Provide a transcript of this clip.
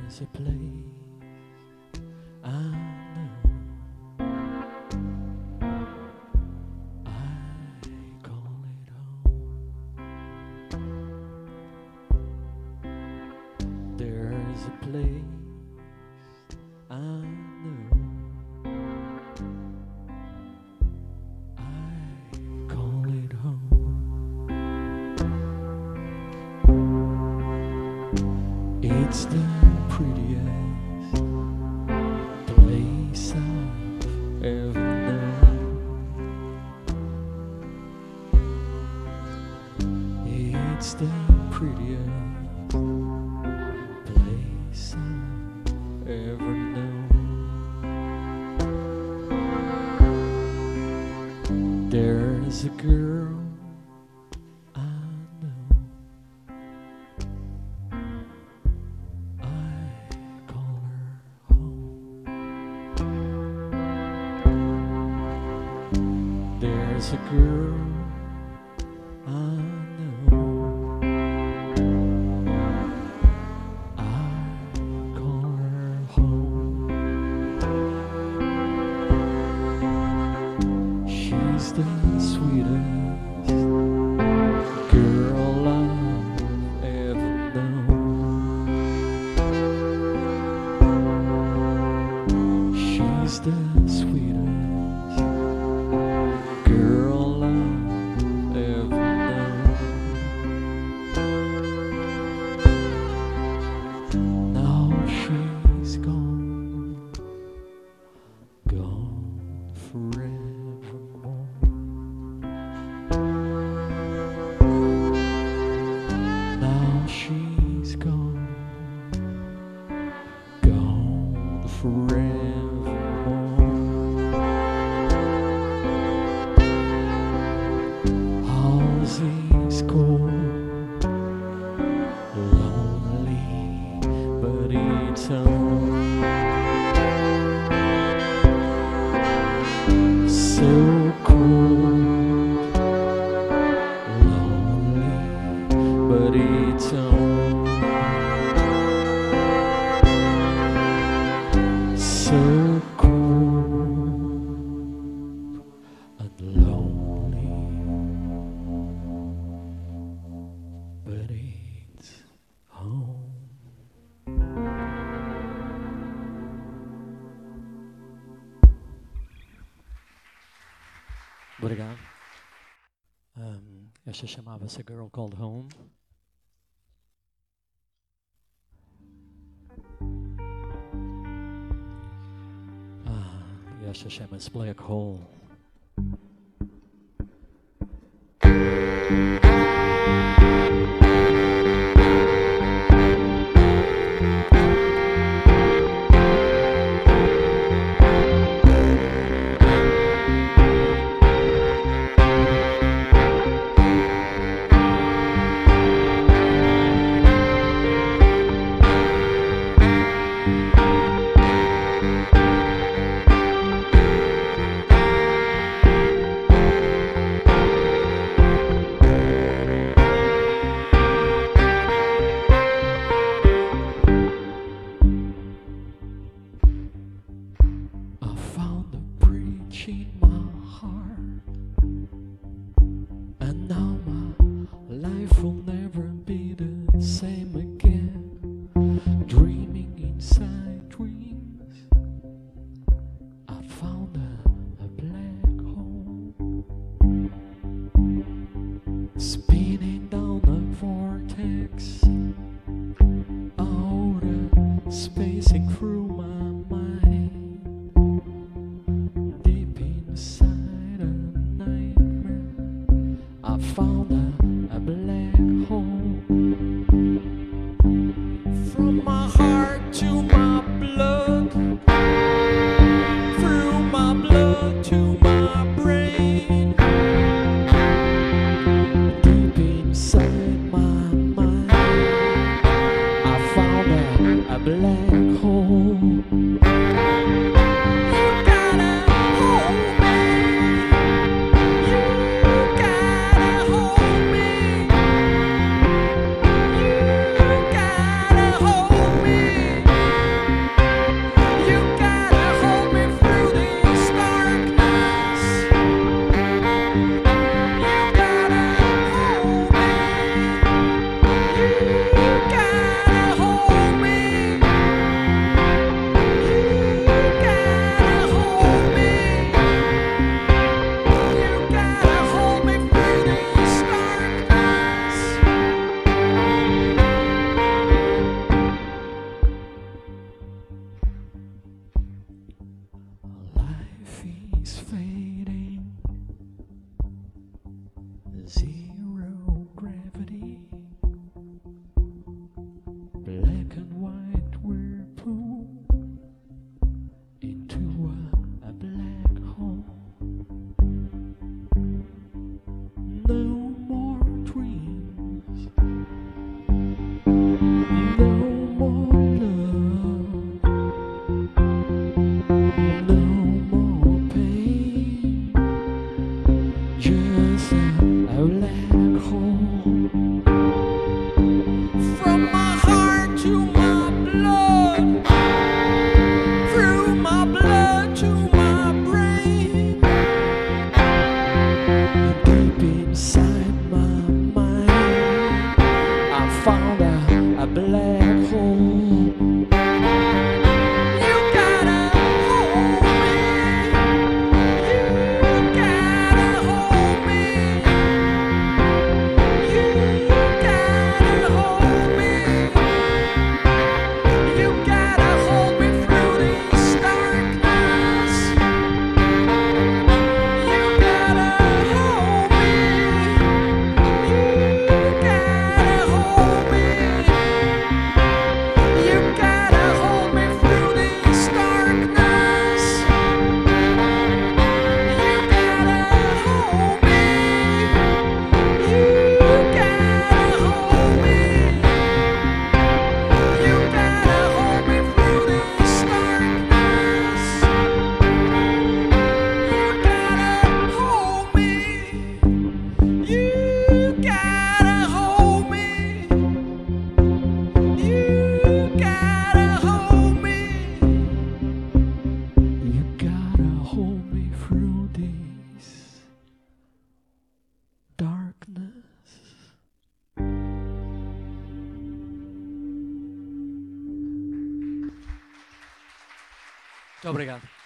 There's a place I know. I call it home. There's a place I know. I call it home. It's the prettiest place I've ever known. It's the prettiest place I've ever known. There's a girl I know. There's a girl I know. I call her home. She's the sweetest girl I've ever known. She's the sweetest girl I've ever known. Now she's gone, gone forevermore. Now she's gone, gone forevermore. He's cold, lonely, but it's home. So cold, lonely, but it's home. So cold and lonely, but it's home. Obrigado. Esta chamava-se A Girl Called Home. E esta chama-se Black Hole. In my heart, and now my life will never be the same again. Dreaming inside dreams, I found a black hole, spinning down a vortex, out of spacing through my mind. Inside a nightmare, I found a black hole. From my heart to my blood, through my blood to my brain, deep inside my mind, I found a black hole. You gotta hold me. Zero gravity, black and white whirlpool into a black hole. No more dreams, no more love, no more pain, just a black hole. From my heart to my blood, through my blood to my brain, deep inside my mind, I found a black hole. You gotta hold me, you gotta hold me, you gotta hold me, you gotta hold me through this darkness. You gotta hold me, you gotta hold me, you gotta hold me through this darkness. You gotta hold me, you gotta hold me, you gotta hold me through this darkness. You gotta hold me, you gotta hold me, you gotta hold me, you gotta hold me through this darkness. Muito obrigado.